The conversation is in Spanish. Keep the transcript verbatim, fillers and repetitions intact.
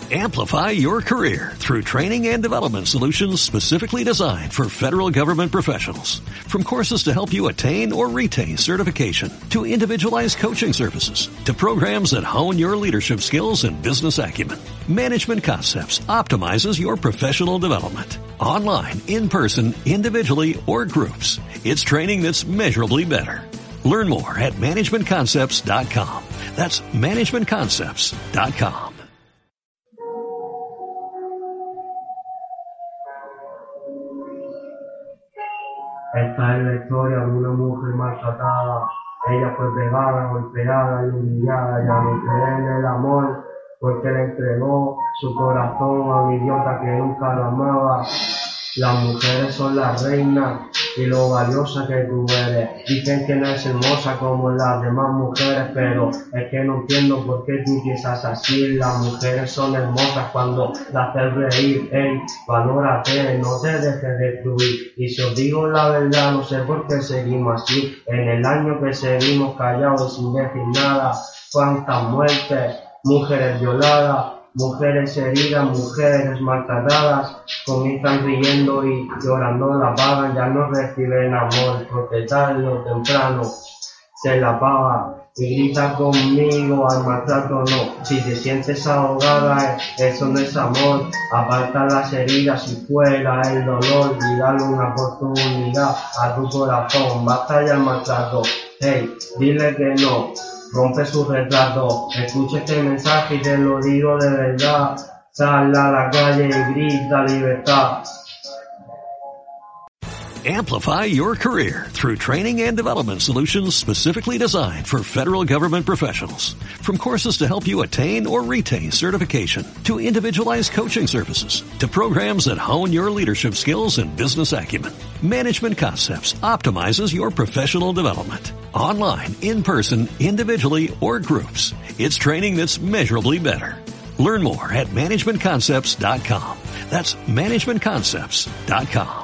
Amplify your career through training and development solutions specifically designed for federal government professionals. From courses to help you attain or retain certification, to individualized coaching services, to programs that hone your leadership skills and business acumen, Management Concepts optimizes your professional development. Online, in person, individually, or groups, it's training that's measurably better. Learn more at management concepts dot com. That's management concepts dot com. Esta es la historia de una mujer maltratada. Ella fue pegada, golpeada y humillada. Ya no cree en el amor porque le entregó su corazón a un idiota que nunca la amaba. Las mujeres son las reinas y lo valiosa que tú eres. Dicen que no es hermosa como las demás mujeres, pero es que no entiendo por qué tú piensas así. Las mujeres son hermosas cuando las haces reír. Ey, valórate, no te dejes destruir. Y si os digo la verdad, no sé por qué seguimos así. En el año que seguimos callados sin decir nada, cuántas muertes, mujeres violadas, mujeres heridas, mujeres maltratadas, comienzan riendo y llorando la pagan, ya no reciben amor, porque tarde o temprano se la paga. Y grita conmigo, al maltrato no. Si te sientes ahogada, eso no es amor. Aparta las heridas y fuera el dolor y dale una oportunidad a tu corazón. Basta ya el maltrato, hey, dile que no. Rompe su retrato, escucha este mensaje y te lo digo de verdad. Sal a la calle y grita libertad. Amplify your career through training and development solutions specifically designed for federal government professionals. From courses to help you attain or retain certification, to individualized coaching services, to programs that hone your leadership skills and business acumen, Management Concepts optimizes your professional development. Online, in person, individually, or groups, it's training that's measurably better. Learn more at management concepts dot com. That's management concepts dot com.